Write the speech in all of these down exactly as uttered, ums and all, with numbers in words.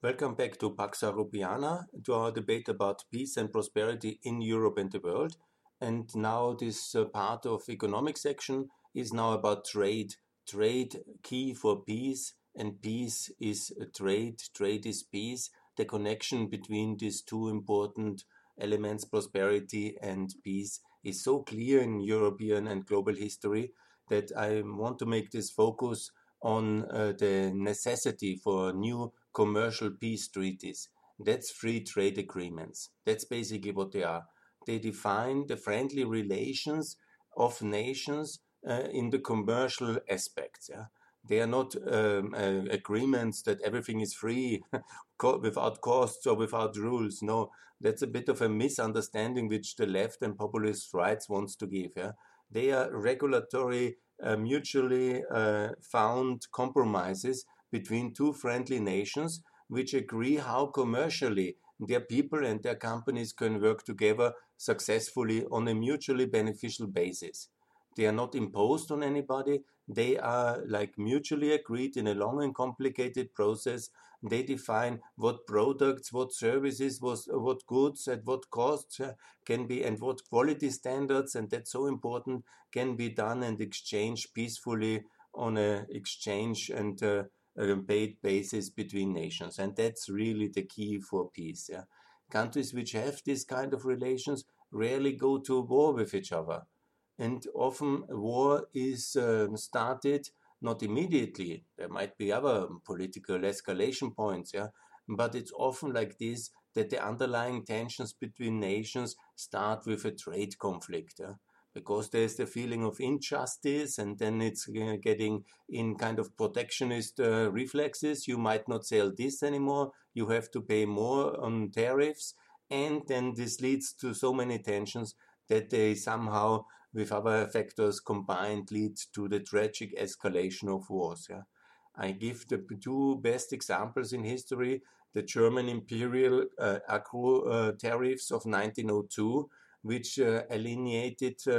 Welcome back to Pax Europiana, to our debate about peace and prosperity in Europe and the world. And now this uh, part of economic section is now about trade. Trade key for peace, and peace is uh, trade, trade is peace. The connection between these two important elements, prosperity and peace, is so clear in European and global history that I want to make this focus on uh, the necessity for new commercial peace treaties. That's free trade agreements. That's basically what they are. They define the friendly relations of nations uh, in the commercial aspects. Yeah? They are not um, uh, agreements that everything is free without costs or without rules. No, that's a bit of a misunderstanding which the left and populist rights wants to give. Yeah? They are regulatory, uh, mutually uh, found compromises between two friendly nations which agree how commercially their people and their companies can work together successfully on a mutually beneficial basis. They are not imposed on anybody. They are like mutually agreed in a long and complicated process. They define what products, what services, what, what goods, at what costs uh, can be, and what quality standards, and that's so important, can be done and exchanged peacefully on a exchange and uh, a paid basis between nations. And that's really the key for peace. Yeah? Countries which have this kind of relations rarely go to war with each other. And often war is um, started not immediately. There might be other political escalation points, yeah, but it's often like this, that the underlying tensions between nations start with a trade conflict, yeah? Because there's the feeling of injustice, and then it's uh, getting in kind of protectionist uh, reflexes. You might not sell this anymore. You have to pay more on tariffs, and then this leads to so many tensions that they somehow, with other factors combined, lead to the tragic escalation of wars. Yeah? I give the two best examples in history: the German imperial uh, agro uh, tariffs of nineteen oh two, which uh, alienated uh,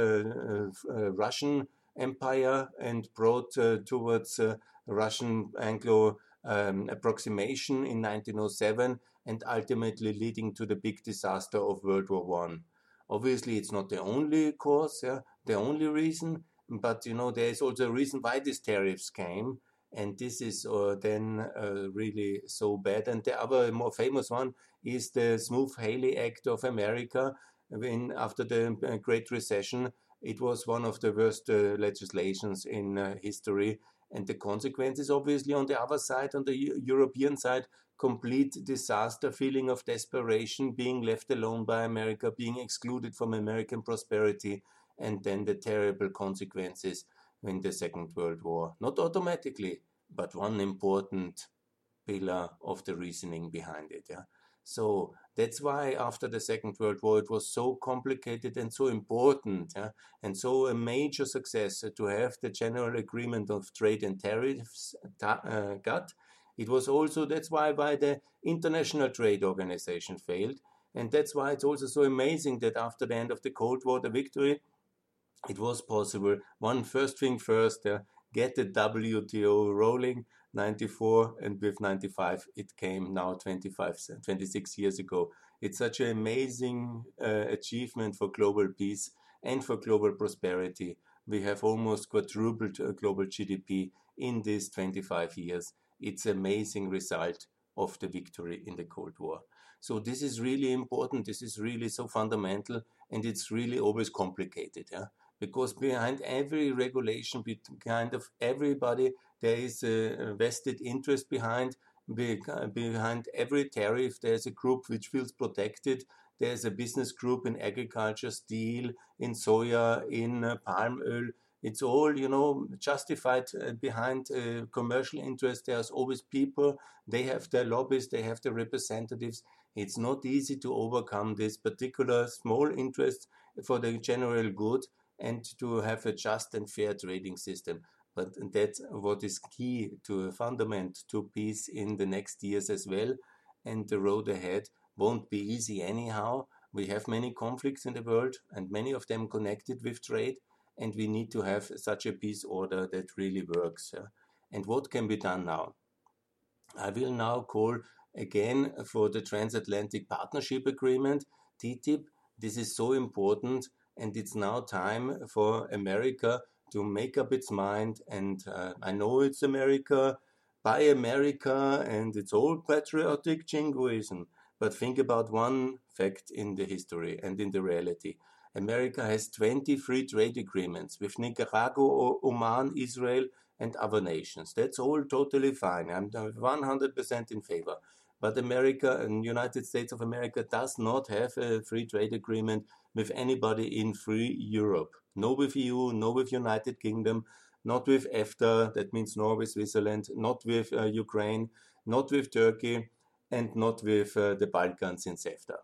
uh, Russian empire and brought uh, towards uh, Russian Anglo um, approximation in nineteen oh seven, and ultimately leading to the big disaster of World War One. Obviously, it's not the only cause, yeah, the only reason, but you know there is also a reason why these tariffs came, and this is uh, then uh, really so bad. And the other more famous one is the Smoot-Hawley Act of America. When after the uh, Great Recession, it was one of the worst uh, legislations in uh, history, and the consequences, obviously, on the other side, on the U- European side, complete disaster, feeling of desperation, being left alone by America, being excluded from American prosperity, and then the terrible consequences in the Second World War. Not automatically, but one important pillar of the reasoning behind it. Yeah? So that's why after the Second World War it was so complicated and so important, yeah? And so a major success to have the General Agreement of Trade and Tariffs uh, got. It was also, that's why, why the International Trade Organization failed. And that's why it's also so amazing that after the end of the Cold War, the victory, it was possible. One first thing first, uh, get the W T O rolling, ninety-four, and with ninety-five, it came now twenty-five, twenty-six years ago. It's such an amazing uh, achievement for global peace and for global prosperity. We have almost quadrupled uh, global G D P in these twenty-five years. It's an amazing result of the victory in the Cold War. So this is really important. This is really so fundamental, and it's really always complicated. Yeah? Because behind every regulation, behind of everybody, there is a vested interest behind. Behind every tariff, there's a group which feels protected. There's a business group in agriculture, steel, in soya, in uh, palm oil. It's all, you know, justified uh, behind uh, commercial interest. There's always people. They have their lobbies. They have their representatives. It's not easy to overcome this particular small interest for the general good and to have a just and fair trading system. But that's what is key to a fundament to peace in the next years as well. And the road ahead won't be easy anyhow. We have many conflicts in the world, and many of them connected with trade, and we need to have such a peace order that really works. Yeah? And what can be done now? I will now call again for the Transatlantic Partnership Agreement, T T I P. This is so important, and it's now time for America to make up its mind. And uh, I know it's America, buy America, and it's all patriotic jingoism. But think about one fact in the history and in the reality. America has twenty free trade agreements with Nicaragua, Oman, Israel, and other nations. That's all totally fine. I'm one hundred percent in favor. But America and United States of America does not have a free trade agreement with anybody in free Europe. No with E U, no with United Kingdom, not with EFTA, that means Norway, Switzerland, not with uh, Ukraine, not with Turkey, and not with uh, the Balkans in CEFTA,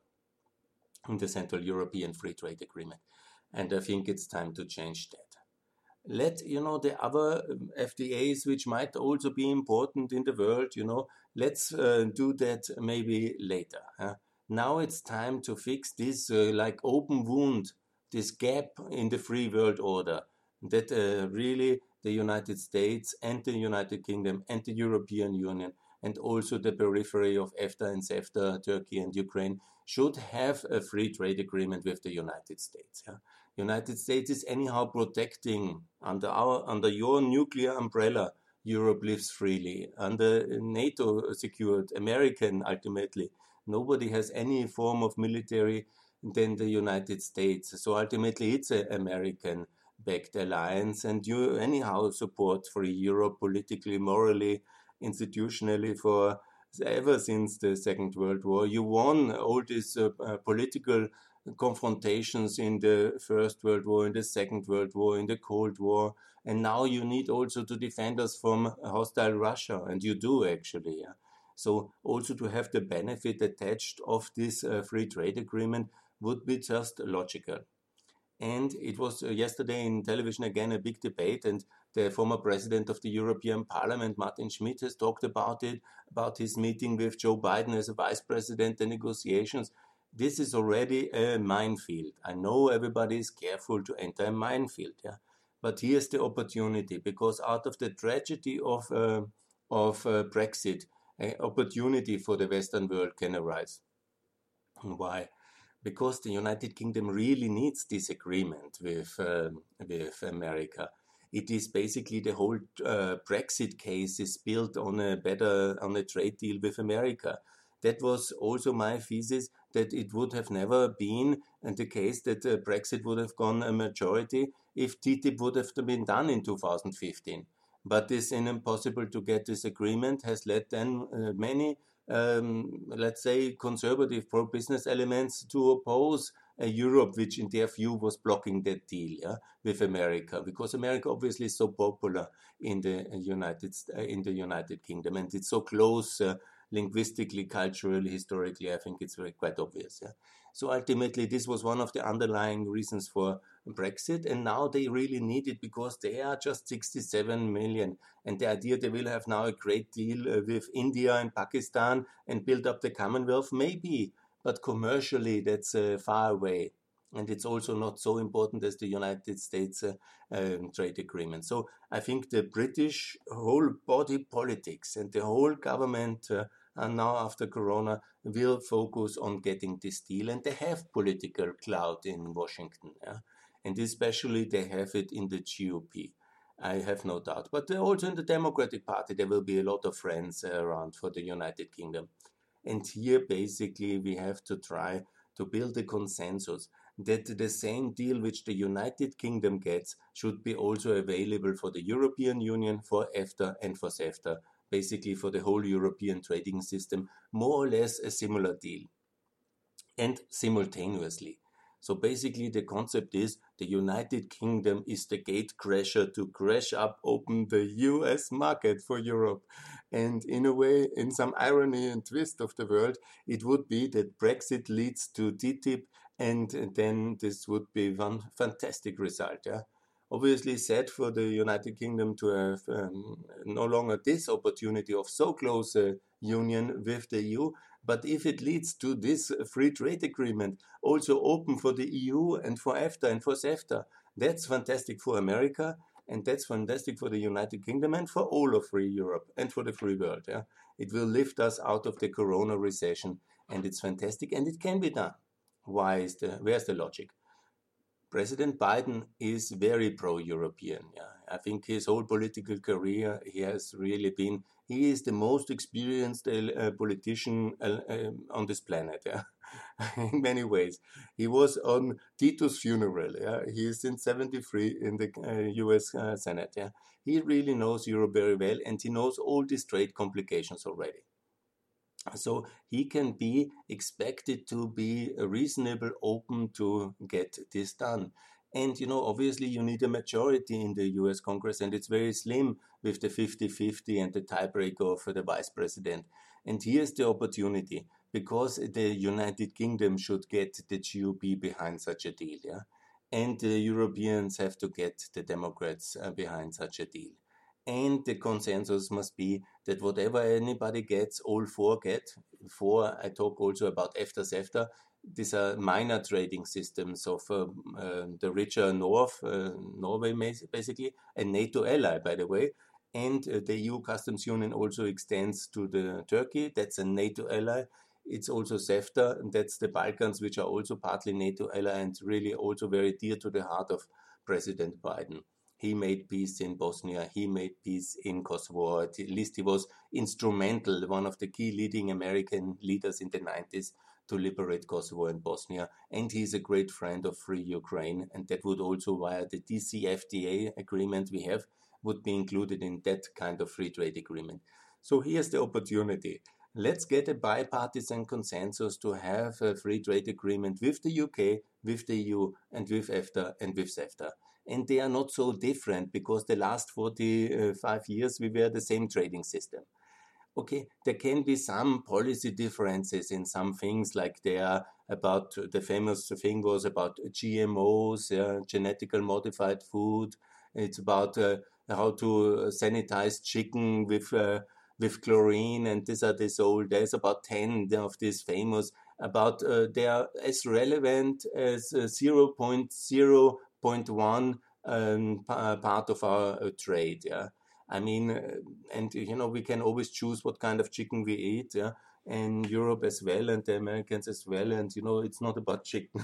in the Central European Free Trade Agreement. And I think it's time to change that. Let, you know, the other F T As, which might also be important in the world, you know, let's uh, do that maybe later. Huh? Now it's time to fix this uh, like open wound, this gap in the free world order that uh, really the United States and the United Kingdom and the European Union and also the periphery of EFTA and CEFTA, Turkey and Ukraine, should have a free trade agreement with the United States. Yeah? United States is anyhow protecting under our under your nuclear umbrella. Europe lives freely under NATO secured American. Ultimately, nobody has any form of military than the United States. So ultimately, it's an American-backed alliance, and you anyhow support free Europe politically, morally, institutionally for ever since the Second World War. You won all these uh, uh, political confrontations in the First World War, in the Second World War, in the Cold War, and now you need also to defend us from hostile Russia, and you do actually. Yeah? So also to have the benefit attached of this uh, free trade agreement would be just logical. And it was uh, yesterday in television again a big debate, and the former president of the European Parliament, Martin Schmidt, has talked about it, about his meeting with Joe Biden as a vice president, the negotiations. This is already a minefield. I know everybody is careful to enter a minefield, yeah. But here's the opportunity, because out of the tragedy of uh, of uh, Brexit, an opportunity for the Western world can arise. Why? Because the United Kingdom really needs this agreement with uh, with America. It is basically the whole uh, Brexit case is built on a better on a trade deal with America. That was also my thesis, that it would have never been in the case that uh, Brexit would have gone a majority if T T I P would have been done in two thousand fifteen. But this impossible to get this agreement has led then uh, many, um, let's say, conservative pro-business elements to oppose a Europe which in their view was blocking that deal, yeah, with America, because America obviously is so popular in the United uh, in the United Kingdom, and it's so close uh, linguistically, culturally, historically. I think it's very quite obvious. Yeah? So ultimately, this was one of the underlying reasons for Brexit, and now they really need it because they are just sixty-seven million, and the idea they will have now a great deal uh, with India and Pakistan and build up the Commonwealth, maybe, but commercially that's uh, far away. And it's also not so important as the United States uh, um, trade agreement. So I think the British whole body politics and the whole government uh, and now after Corona will focus on getting this deal, and they have political clout in Washington, yeah? And especially they have it in the G O P. I have no doubt. But also in the Democratic Party, there will be a lot of friends uh, around for the United Kingdom. And here, basically, we have to try to build a consensus that the same deal which the United Kingdom gets should be also available for the European Union, for EFTA and for CEFTA, basically for the whole European trading system, more or less a similar deal, and simultaneously. So basically the concept is the United Kingdom is the gatecrasher to crash up open the U S market for Europe. And in a way, in some irony and twist of the world, it would be that Brexit leads to T T I P, and then this would be one fantastic result. Yeah? Obviously sad for the United Kingdom to have um, no longer this opportunity of so close a union with the E U, but if it leads to this free trade agreement, also open for the E U and for EFTA and for CEFTA, that's fantastic for America, And that's fantastic for the United Kingdom and for all of free Europe and for the free world. Yeah? It will lift us out of the corona recession, and it's fantastic, and it can be done. Why is the, where's the logic? President Biden is very pro-European. Yeah. I think his whole political career, he has really been, he is the most experienced uh, politician uh, uh, on this planet. Yeah. In many ways. He was on Tito's funeral. Yeah. He is since seventy-three in the uh, U S uh, Senate. Yeah. He really knows Europe very well, and he knows all these trade complications already. So he can be expected to be reasonable, open to get this done. And, you know, obviously you need a majority in the U S Congress, and it's very slim with the fifty-fifty and the tiebreaker for the vice president. And here's the opportunity, because the United Kingdom should get the G O P behind such a deal, yeah? And the Europeans have to get the Democrats uh, behind such a deal. And the consensus must be that whatever anybody gets, all four get. Four, I talk also about EFTA-CEFTA. These are minor trading systems of uh, uh, the richer North, uh, Norway basically, a NATO ally, by the way. And uh, the E U Customs Union also extends to the Turkey. That's a NATO ally. It's also CEFTA, and that's the Balkans, which are also partly NATO ally and really also very dear to the heart of President Biden. He made peace in Bosnia. He made peace in Kosovo. At least he was instrumental, one of the key leading American leaders in the nineties to liberate Kosovo and Bosnia. And he's a great friend of free Ukraine. And that would also, via the D C F T A agreement we have, would be included in that kind of free trade agreement. So here's the opportunity. Let's get a bipartisan consensus to have a free trade agreement with the U K, with the E U, and with EFTA and with CEFTA. And they are not so different, because the last forty-five years we were the same trading system. Okay, there can be some policy differences in some things, like they are about, the famous thing was about G M Os, uh, genetically modified food. It's about uh, how to sanitize chicken with uh, with chlorine, and these are this old. There's about ten of these famous. About uh, they are as relevant as uh, zero point zero. zero point one um, part of our uh, trade. Yeah, I mean, uh, and you know, we can always choose what kind of chicken we eat. Yeah, and Europe as well, and the Americans as well. And you know, it's not about chicken.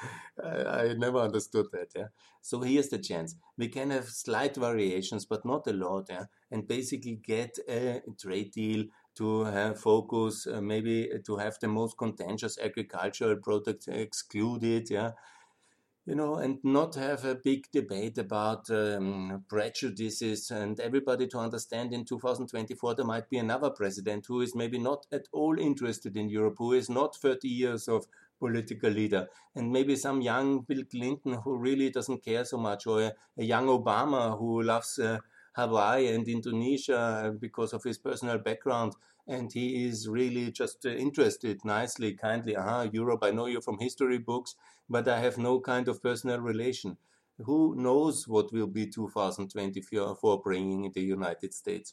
I, I never understood that. Yeah, so here's the chance. We can have slight variations, but not a lot. Yeah, and basically get a trade deal to have focus, uh, maybe to have the most contentious agricultural products excluded. Yeah. You know, and not have a big debate about um, prejudices, and everybody to understand in two thousand twenty-four there might be another president who is maybe not at all interested in Europe, who is not thirty years of political leader, and maybe some young Bill Clinton who really doesn't care so much, or a, a young Obama who loves uh, Hawaii and Indonesia because of his personal background. And he is really just uh, interested nicely, kindly, aha, Europe, I know you from history books, but I have no kind of personal relation. Who knows what will be two thousand twenty-four bringing in the United States?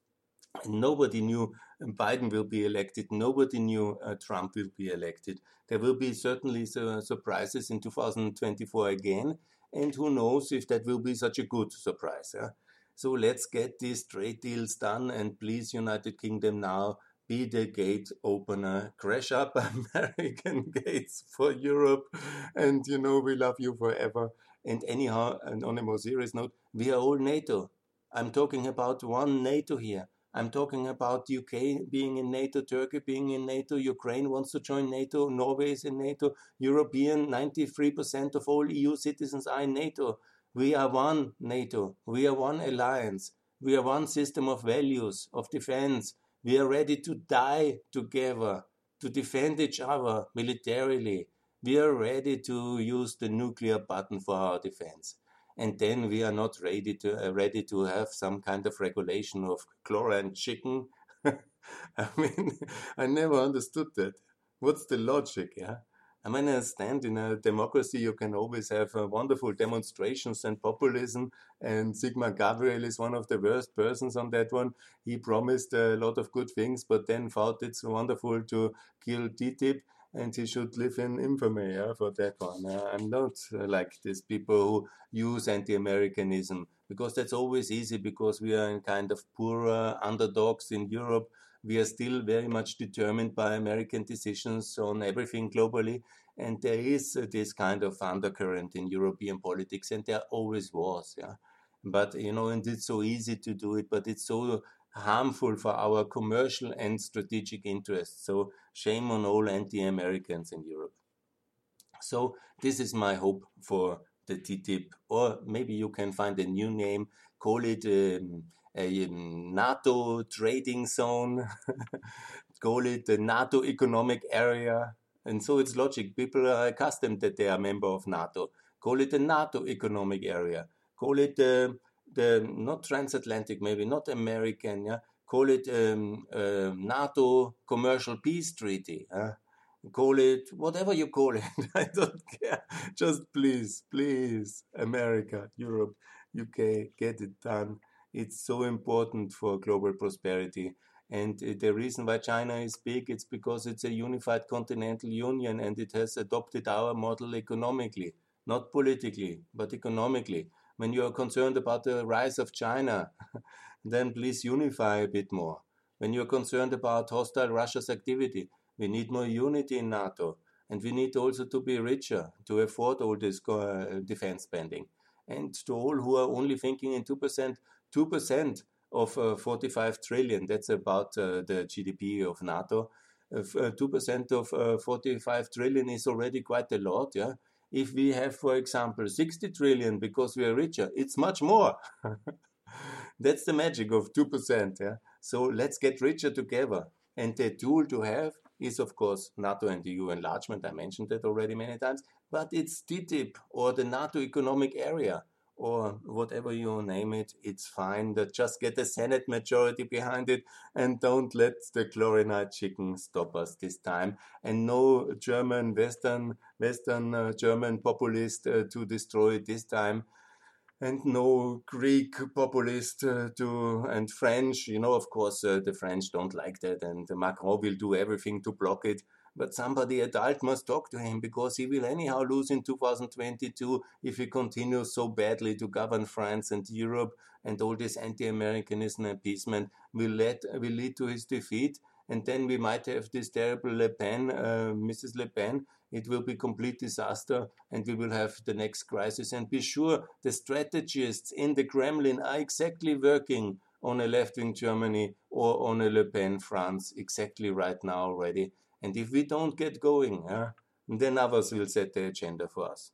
Nobody knew Biden will be elected. Nobody knew uh, Trump will be elected. There will be certainly su- surprises in two thousand twenty-four again. And who knows if that will be such a good surprise. Yeah? So let's get these trade deals done, and please, United Kingdom, now be the gate opener. Crash up American gates for Europe, and you know we love you forever. And anyhow, and on a more serious note, we are all NATO. I'm talking about one NATO here. I'm talking about U K being in NATO, Turkey being in NATO, Ukraine wants to join NATO, Norway is in NATO, European, ninety-three percent of all E U citizens are in NATO. We are one NATO. We are one alliance. We are one system of values, of defense. We are ready to die together, to defend each other militarily. We are ready to use the nuclear button for our defense. And then we are not ready to uh, ready to have some kind of regulation of chlorine chicken. I mean, I never understood that. What's the logic, yeah? I mean, I understand in a democracy you can always have uh, wonderful demonstrations and populism, and Sigmar Gabriel is one of the worst persons on that one. He promised a lot of good things, but then thought it's wonderful to kill T T I P, and he should live in infamy, yeah, for that one. Uh, I'm not uh, like these people who use anti-Americanism because that's always easy, because we are in kind of poorer underdogs in Europe. We are still very much determined by American decisions on everything globally. And there is uh, this kind of undercurrent in European politics, and there always was. Yeah. But, you know, and it's so easy to do it, but it's so harmful for our commercial and strategic interests. So shame on all anti-Americans in Europe. So this is my hope for the T T I P, or maybe you can find a new name, call it um, a um, NATO trading zone, call it the NATO economic area. And so it's logic. People are accustomed that they are a member of NATO. Call it the NATO economic area. Call it uh, the, not transatlantic, maybe not American, yeah. Call it um, uh, NATO commercial peace treaty. Huh? Call it whatever you call it. I don't care. Just please, please, America, Europe, U K, get it done. It's so important for global prosperity. And the reason why China is big, it's because it's a unified continental union, and it has adopted our model economically, not politically, but economically. When you are concerned about the rise of China, then please unify a bit more. When you are concerned about hostile Russia's activity, we need more unity in NATO, and we need also to be richer to afford all this uh, defense spending. And to all who are only thinking in two percent, two percent of uh, forty-five trillion, that's about uh, the G D P of NATO. Uh, two percent of uh, forty-five trillion is already quite a lot, yeah. If we have, for example, sixty trillion because we are richer, it's much more. That's the magic of two percent, yeah. So let's get richer together. And the tool to have is, of course, NATO and E U enlargement. I mentioned that already many times. But it's T T I P or the NATO economic area or whatever you name it. It's fine. That just get a Senate majority behind it and don't let the chlorinated chicken stop us this time. And no German, Western, Western uh, German populist uh, to destroy it this time. And no Greek populist uh, to, and French, you know, of course, uh, the French don't like that, and Macron will do everything to block it. But somebody adult must talk to him, because he will anyhow lose in two thousand twenty-two if he continues so badly to govern France and Europe, and all this anti-Americanism and appeasement will, let, will lead to his defeat. And then we might have this terrible Le Pen, uh, Missus Le Pen. It will be complete disaster, and we will have the next crisis. And be sure the strategists in the Kremlin are exactly working on a left-wing Germany or on a Le Pen France exactly right now already. And if we don't get going, uh, then others will set the agenda for us.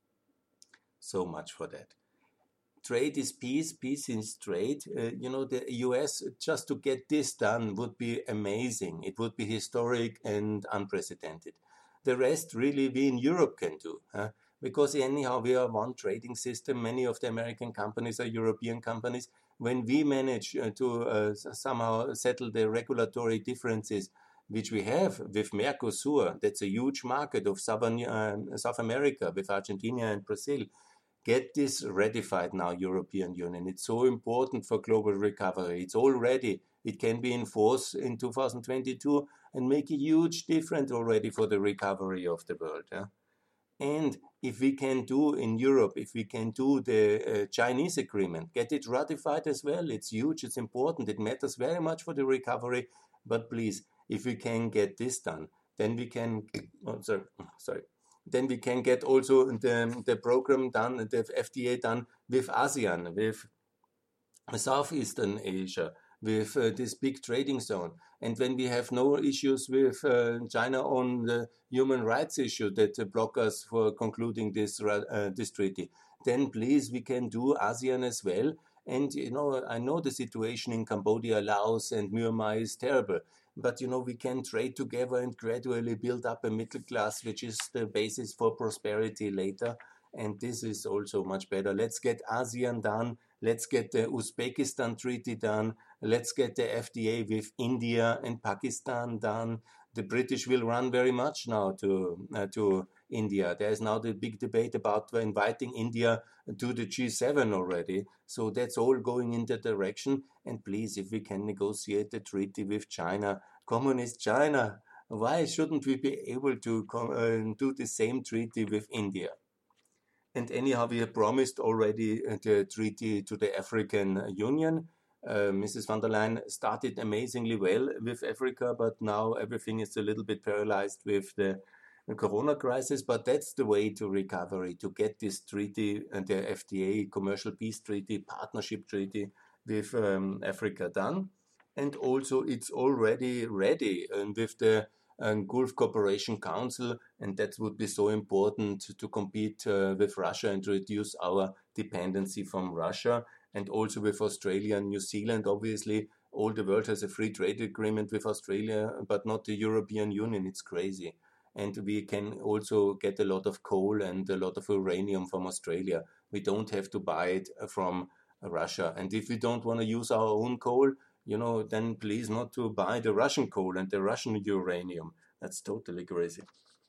So much for that. Trade is peace, peace is trade. Uh, you know, the U S, just to get this done would be amazing. It would be historic and unprecedented. The rest, really, we in Europe can do. Huh? Because anyhow, we are one trading system. Many of the American companies are European companies. When we manage uh, to uh, somehow settle the regulatory differences, which we have with Mercosur, that's a huge market of Southern, uh, South America, with Argentina and Brazil. Get this ratified now, European Union. It's so important for global recovery. It's already, it can be enforced in two thousand twenty-two and make a huge difference already for the recovery of the world. Yeah? And if we can do in Europe, if we can do the uh, Chinese agreement, get it ratified as well. It's huge, it's important, it matters very much for the recovery. But please, if we can get this done, then we can, oh, sorry, sorry. Then we can get also the, the program done, the F T A done with ASEAN, with Southeastern Asia, with uh, this big trading zone. And when we have no issues with uh, China on the human rights issue that uh, block us for concluding this, uh, this treaty, then please, we can do ASEAN as well. And, you know, I know the situation in Cambodia, Laos, and Myanmar is terrible. But, you know, we can trade together and gradually build up a middle class, which is the basis for prosperity later. And this is also much better. Let's get ASEAN done. Let's get the Uzbekistan treaty done. Let's get the F D A with India and Pakistan done. The British will run very much now to uh, to India. There is now the big debate about inviting India to the G seven already. So that's all going in that direction. And please, if we can negotiate a treaty with China, communist China, why shouldn't we be able to uh, do the same treaty with India? And anyhow, we have promised already the treaty to the African Union. Uh, Missus von der Leyen started amazingly well with Africa, but now everything is a little bit paralyzed with the Corona crisis. But that's the way to recovery, to get this treaty, and the F T A, Commercial Peace Treaty, Partnership Treaty with um, Africa done. And also it's already ready, and with the um, Gulf Cooperation Council, and that would be so important to compete uh, with Russia and reduce our dependency from Russia, and also with Australia and New Zealand. Obviously, all the world has a free trade agreement with Australia, but not the European Union. It's crazy. And we can also get a lot of coal and a lot of uranium from Australia. We don't have to buy it from Russia. And if we don't want to use our own coal, you know, then please not to buy the Russian coal and the Russian uranium. That's totally crazy.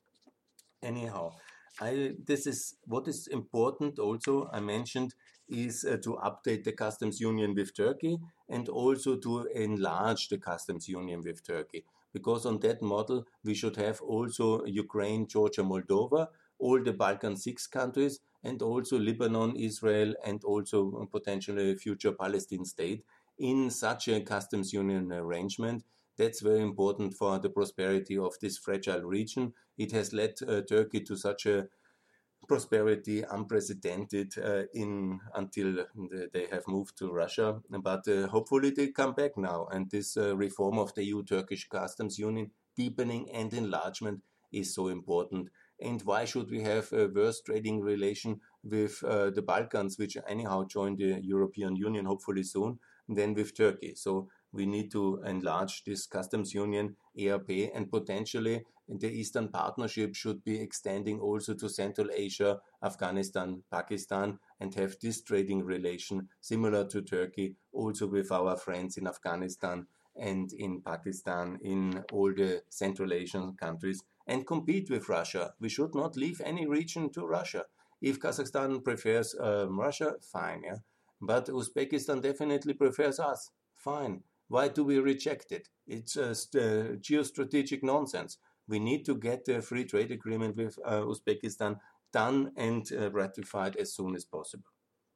Anyhow, I, this is what is important also, I mentioned, is uh, to update the customs union with Turkey, and also to enlarge the customs union with Turkey. Because on that model, we should have also Ukraine, Georgia, Moldova, all the Balkan six countries, and also Lebanon, Israel, and also potentially a future Palestine state in such a customs union arrangement. That's very important for the prosperity of this fragile region. It has led uh, Turkey to such a prosperity unprecedented uh, in until they have moved to Russia. But uh, hopefully they come back now. And this uh, reform of the E U-Turkish customs union, deepening and enlargement, is so important. And why should we have a worse trading relation with uh, the Balkans, which anyhow join the European Union hopefully soon, than with Turkey? So we need to enlarge this customs union, E R P, and potentially the Eastern Partnership should be extending also to Central Asia, Afghanistan, Pakistan, and have this trading relation similar to Turkey, also with our friends in Afghanistan and in Pakistan, in all the Central Asian countries, and compete with Russia. We should not leave any region to Russia. If Kazakhstan prefers um, Russia, fine, yeah. But Uzbekistan definitely prefers us, fine. Why do we reject it? It's just uh, geostrategic nonsense. We need to get the free trade agreement with uh, Uzbekistan done and uh, ratified as soon as possible.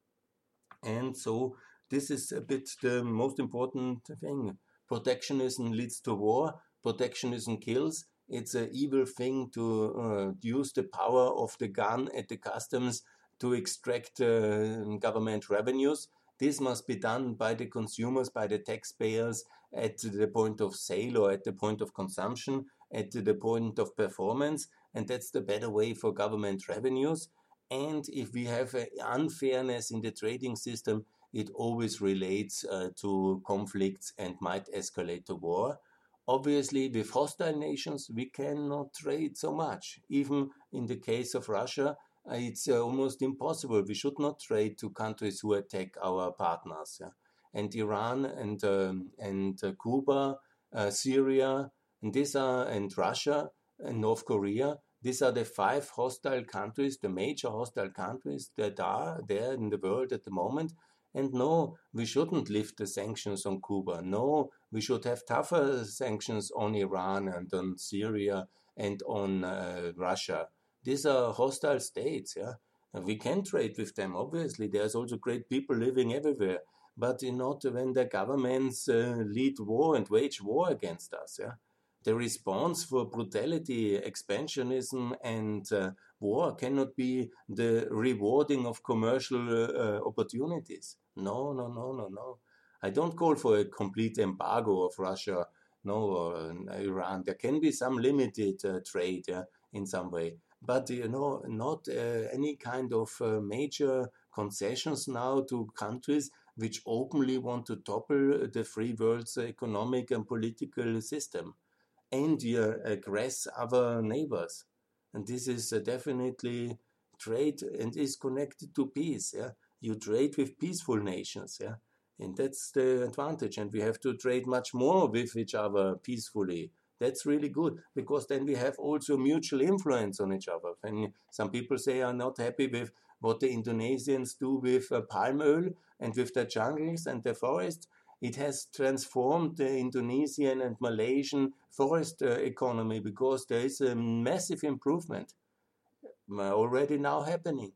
And so this is a bit the most important thing. Protectionism leads to war. Protectionism kills. It's an evil thing to uh, use the power of the gun at the customs to extract uh, government revenues. This must be done by the consumers, by the taxpayers at the point of sale or at the point of consumption, at the point of performance, and that's the better way for government revenues. And if we have an unfairness in the trading system, it always relates uh, to conflicts and might escalate to war. Obviously, with hostile nations, we cannot trade so much. Even in the case of Russia, uh, it's uh, almost impossible. We should not trade to countries who attack our partners. Yeah? And Iran and um, and uh, Cuba, uh, Syria, and these are and Russia and North Korea. These are the five hostile countries, the major hostile countries that are there in the world at the moment. And no, we shouldn't lift the sanctions on Cuba. No, we should have tougher sanctions on Iran and on Syria and on uh, Russia. These are hostile states, yeah. And we can trade with them, obviously. There's also great people living everywhere. But you know, not when the governments uh, lead war and wage war against us, yeah. The response for brutality, expansionism, and uh, war cannot be the rewarding of commercial uh, opportunities. No, no, no, no, no. I don't call for a complete embargo of Russia, no, or uh, Iran. There can be some limited uh, trade yeah, in some way. But, you know, not uh, any kind of uh, major concessions now to countries which openly want to topple the free world's economic and political system. And you aggress other neighbors. And this is uh, definitely trade and is connected to peace. Yeah, you trade with peaceful nations. Yeah, and that's the advantage. And we have to trade much more with each other peacefully. That's really good because then we have also mutual influence on each other. And some people say are not happy with what the Indonesians do with uh, palm oil and with their jungles and their forests. It has transformed the Indonesian and Malaysian forest uh, economy because there is a massive improvement already now happening.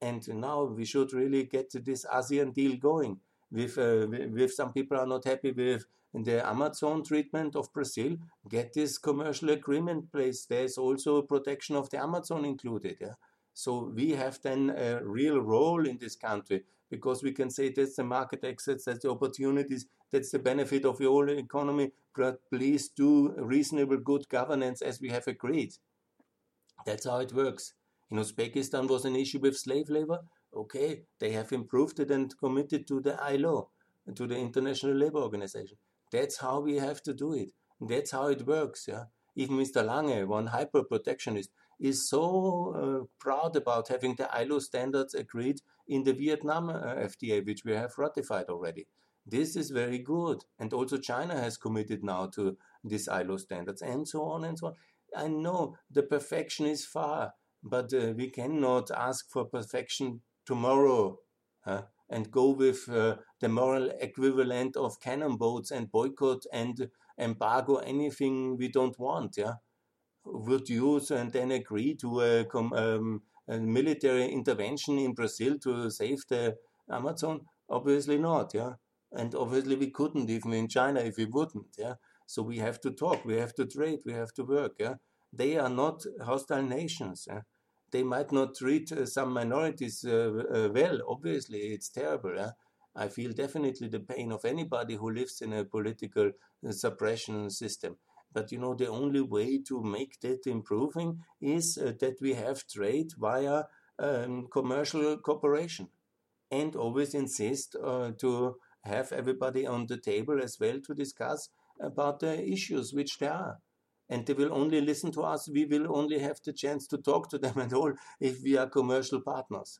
And now we should really get this ASEAN deal going. With, uh, with some people are not happy with the Amazon treatment of Brazil, get this commercial agreement place. There's also protection of the Amazon included. Yeah? So we have then a real role in this country, because we can say that's the market access, that's the opportunities, that's the benefit of the whole economy, but please do reasonable good governance as we have agreed. That's how it works. In Uzbekistan was an issue with slave labor. Okay, they have improved it and committed to the I L O, to the International Labour Organization. That's how we have to do it. That's how it works. Yeah. Even Mister Lange, one hyper-protectionist, is so uh, proud about having the I L O standards agreed in the Vietnam uh, F T A, which we have ratified already. This is very good. And also China has committed now to these I L O standards, and so on and so on. I know the perfection is far, but uh, we cannot ask for perfection tomorrow uh, and go with uh, the moral equivalent of cannon boats and boycott and embargo anything we don't want. Yeah, would use and then agree to a, um, a military intervention in Brazil to save the Amazon? Obviously not. Yeah, and obviously we couldn't even in China if we wouldn't. Yeah. So we have to talk, we have to trade, we have to work. Yeah? They are not hostile nations. Yeah? They might not treat uh, some minorities uh, uh, well. Obviously, it's terrible. Yeah? I feel definitely the pain of anybody who lives in a political uh, suppression system. But you know, the only way to make that improving is uh, that we have trade via um, commercial cooperation, and always insist uh, to have everybody on the table as well to discuss about the issues which there are. And they will only listen to us, we will only have the chance to talk to them at all if we are commercial partners.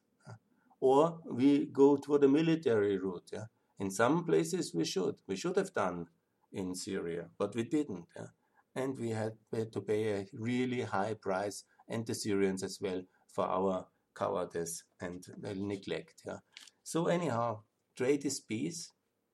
Or we go to the military route. Yeah? In some places we should. We should have done in Syria, but we didn't. Yeah? And we had to pay a really high price, and the Syrians as well, for our cowardice and neglect. Yeah? So anyhow, trade is peace.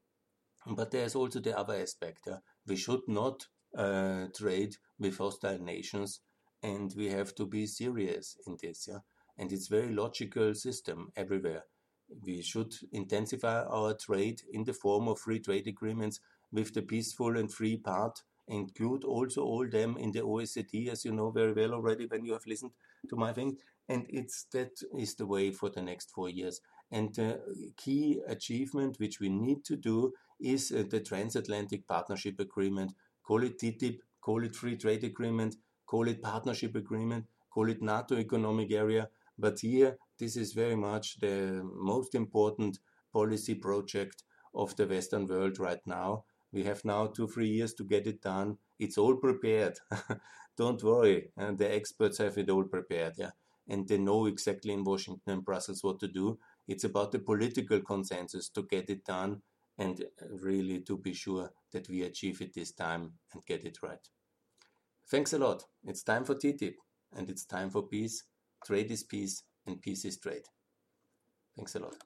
But there's also the other aspect. Yeah? We should not uh, trade with hostile nations, and we have to be serious in this. Yeah? And it's a very logical system everywhere. We should intensify our trade in the form of free trade agreements with the peaceful and free part, include also all them in the O E C D, as you know very well already when you have listened to my thing. And it's that is the way for the next four years. And the key achievement which we need to do is uh, the Transatlantic Partnership Agreement. Call it T T I P, call it Free Trade Agreement, call it Partnership Agreement, call it NATO Economic Area. But here, this is very much the most important policy project of the Western world right now. We have now two, three years to get it done. It's all prepared. Don't worry. And the experts have it all prepared. Yeah. And they know exactly in Washington and Brussels what to do. It's about the political consensus to get it done and really to be sure that we achieve it this time and get it right. Thanks a lot. It's time for T T I P, and it's time for peace. Trade is peace, and peace is trade. Thanks a lot.